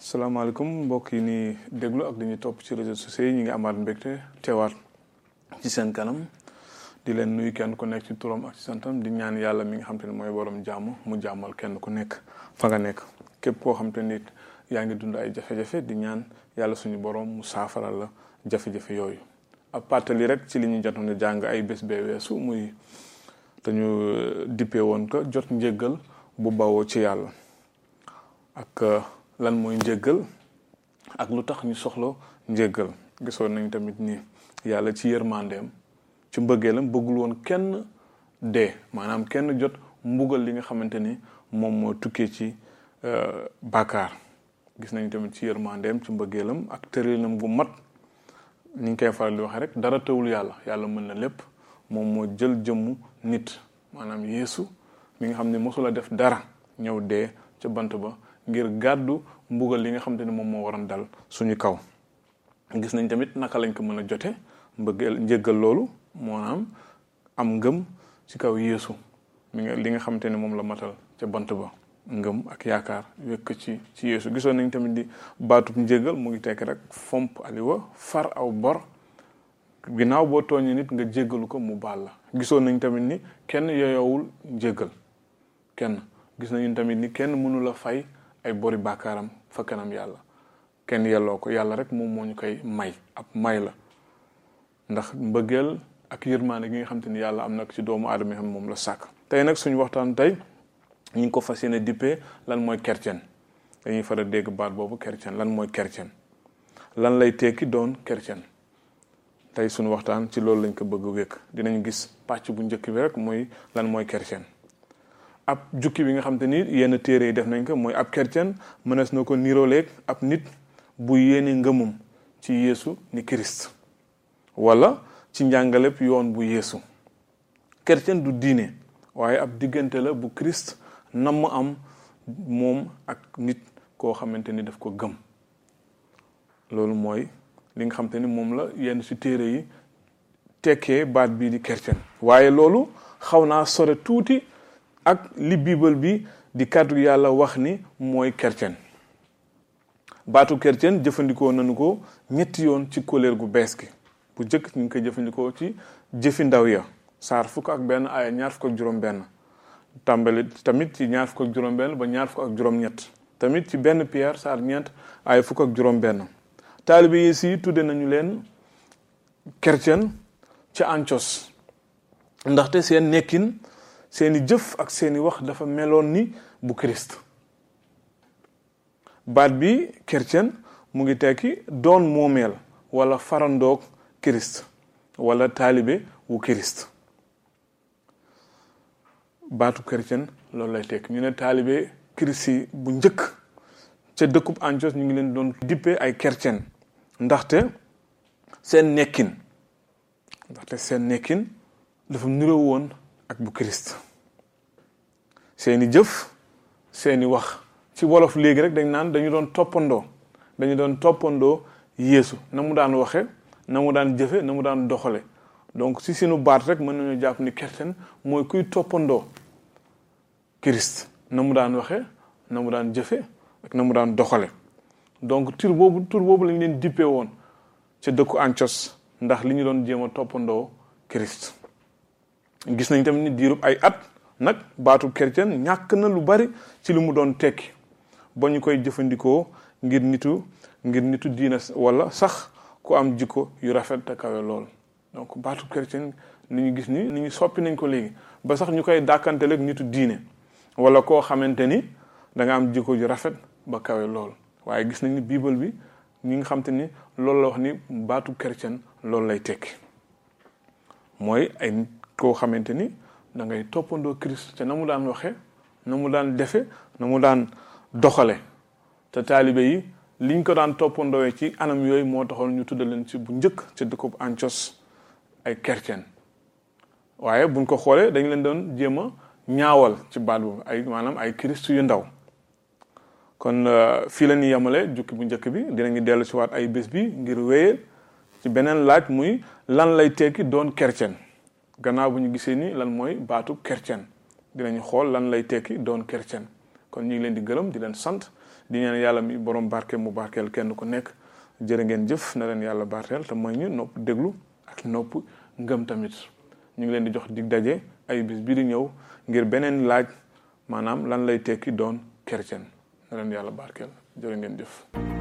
salaamaaleykum mbokk yi ni déglu ak dañuy topp ci réseaux sociaux yi ñu ngi amaat mbégte teewaat ci seen kanam di leen nuyu kenn ku nekk ci turam ak ci santam di ñaan yàlla mi nga xam te ne mooy borom jàmm mu jàmmal kenn ku nekk fa nga nekk képp koo xam te nit yaa ngi dund ay jafe-jafe di ñaan yàlla suñu borom mu saafaral la jafe-jafe yooyu. ab pàttali rek ci li ñu jotoon a jàng ay bés bee weesu muy dañu dippee woon ko jot njéggal bu bawoo ci yàlla ak lan mooy njéggal ak lu tax ñu soxla njéggal. gisoon nañ tamit ni yàlla ci yërmandeem ci mbëggeelam bëggul woon kenn dee maanaam kenn jot mbugal li nga xamante ni moom moo tukkee ci bàkkaar. gis nañ tamit ci yërmandeem ci mbëggeelam ak tëralinam gu mat ni ñu koy faral di waxee rek dara tawul yàlla mën na lépp moom moo jël jëmmu nit maanaam Yeesu mi nga xam ne mosula def dara ñëw dee ca bant ba ngir gàddu mbugal li nga xamante ne moom moo waroon dal suñu kaw. gis nañ tamit naka lañ ko mën a jote mbëggeel njéggal loolu maanaam am ngëm ci kaw Yeesu li nga xamante ne moom la matal ca bant ba ngëm ak yaakaar wekk ci Yeesu. gisoon nañ tamit di baatub njéggal mu ngi tekk rek fomp aliwa far aw bor ginnaaw boo tooñee nit nga jéggalu ko mu baal la. gisoon nañ tamit ni kenn yeyowul njéggal kenn. gis nañu tamit ni kenn mënu la fay ay bori bàkkaaram fa kanam yàlla kenn yelloo ko yàlla rek moom moo ñu koy may ab may la ndax mbëggeel ak yërmaande gi nga xam te ni yàlla am na ci doomu aadama xam moom la sàkk. tey nag suñu waxtaan tey ñu ngi ko fas yéene dippee lan mooy chrétien. dañuy faral dégg baat boobu chrétien lan mooy chrétien lan lay tekki doon chrétien. tey suñu waxtaan ci loolu lañ ko bëgg wékk dinañ gis pàcc bu njëkk bi rek mooy lan mooy chrétien. ab jukki bi nga xam te ni yenn téere yi def nañ ko mooy ab chrétien mënees na ko nirooleeg ab nit bu yéene ngëmum ci Yeesu ni Christ wala ci njàngaleb yoon bu Yeesu. chrétien du diine waaye ab diggante la bu Christ nam am moom ak nit koo xamante ni daf ko gëm. loolu mooy li nga xamante ni moom la yenn ci téere yi tekkee baat bii di chrétien. waaye loolu xaw naa sore tuuti ak li bible bi di kàddu yàlla wax ni mooy chrétien. baatu chrétien jëfandikoo nañu ko ñetti yoon ci kóllëre gu bees gi. bu njëkk ñu ngi koy jëfandikoo ci jëfi ndaw ya saar 1 aaya 26 tàmbali tamit ci 26 ba 27 tamit ci benn Pierre saar 4 aaya 1 taalibe Yeesu yi tudde nañu leen chrétien ci Antiyos ndaxte seen nekkin seeni jëf ak seeni wax dafa meloon ni bu Christ. baat bi chrétien mu ngi tekki doon moomeel wala farandoog Christ wala taalibe wu Christ. baatu chrétien loolu lay tekki ñu ne taalibe Christ yi bu njëkk ca dëkkub Antiyos ñu ngi leen doon dippee ay chrétien ndaxte seen nekkin dafa niroo woon ak bu Christ. seeni jëf seeni wax ci wolof léegi rek dañ naan dañu doon toppandoo Yeesu na mu daan waxe na mu daan jëfe na mu daan doxale. donc si sunu baat rek mën nañu jàpp ni chrétien mooy kuy toppandoo Christ na mu daan waxe na mu daan jëfe ak na mu daan doxale. donc tur boobu lañ leen dippee woon ca dëkku Antiyos ndax li ñu doon jéem a toppandoo Christ. gis nañ tamit ni diirub ay at nag baatu chrétien ñàkk na lu bari ci li mu doon tekki ba ñu koy jëfandikoo ngir nitu diina wala sax ku am jikko yu rafet te kawe lool. donc baatu chrétien ni ñu gis ni ñu soppi nañ ko léegi ba sax ñu koy dàkkanteleeg nitu diine wala koo xamante ni da nga am jikko yu rafet ba kawe lool. waaye gis nañ ni bible bi ñi nga xamante ni loolu la wax ni baatu chrétien loolu lay tekki mooy ay koo xamante ni da ngay toppandoo Christ te na mu daan waxe na mu daan defe na mu daan doxale. te taalibe yi liñ ko daan toppandoowe ci anam yooyu moo taxoon ñu tudda leen ci bu njëkk ca dëkkub Antiyos ay chrétien. waaye buñ ko xoolee dañ leen doon jéem a ñaawal ci baat boobu maanaam ay Christ yu ndaw. kon fii la ñuy yemale jukki bu njëkk bi dinañu dellu si waat ay bés bi ngir wéyee ci beneen laaj muy lan lay tekki doon chrétien. gannaaw bu ñu gisee ni lan mooy baatu chrétien dinañu xool lan lay tekki doon chrétien kon ñu ngi leen di gërëm di leen sant di ñaan yàlla mi borom barke mu barkeel kenn ku nekk jërë ngeen jëf na leen yàlla barkeel te mooy ñu nopp déglu ak nopp ngëm tamit ñu ngi leen di jox dig daje ay bis bi di ñëw ngir beneen laaj maanaam lan lay tekki doon chrétien na leen yàlla barkeel jërë ngeen jëf